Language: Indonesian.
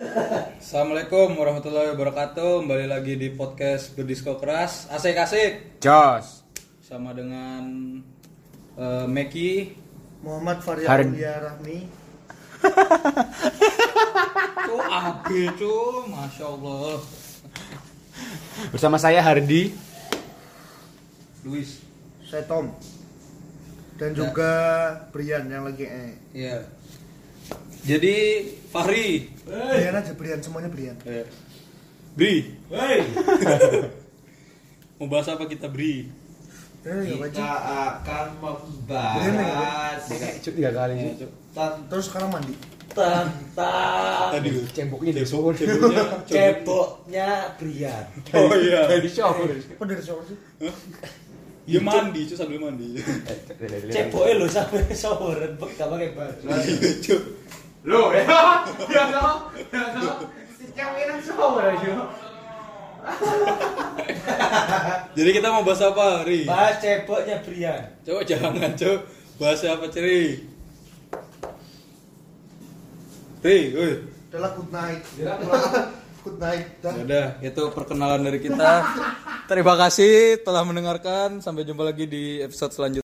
Assalamualaikum warahmatullahi wabarakatuh. Kembali lagi di podcast Berdisco Keras. Asik-asik. Jos. Sama dengan Meki. Muhammad Faryaulia Rahmi. Tuh Abi tuh, Masya Allah. Bersama saya Hardi. Luis. Saya Tom. Dan juga Brian yang lagi Iya. Jadi Fahri. Brian aja, Brian, semuanya Brian. Bri. Mau bahas apa kita, Bri? Kita akan membahas Tiga kali sih. Terus sekarang mandi. tentang Tadi Cemboknya dari shower. ceboknya Brian. Oh iya. Dari shower. Apa dari shower sih? Dia mandi, cuy, sambil mandi. Ceboknya lo sampai shower, gak pakai baju. Lo ya. Ya no. Si cewek nang shower aja. Jadi kita mau bahas apa, Ri? Bahas ceboknya Brian. Coba jangan, coba bahas apa, Ceri? Ri, woi. Adalah good night. Good night. Udah, itu perkenalan dari kita. Terima kasih telah mendengarkan. Sampai jumpa lagi di episode selanjutnya.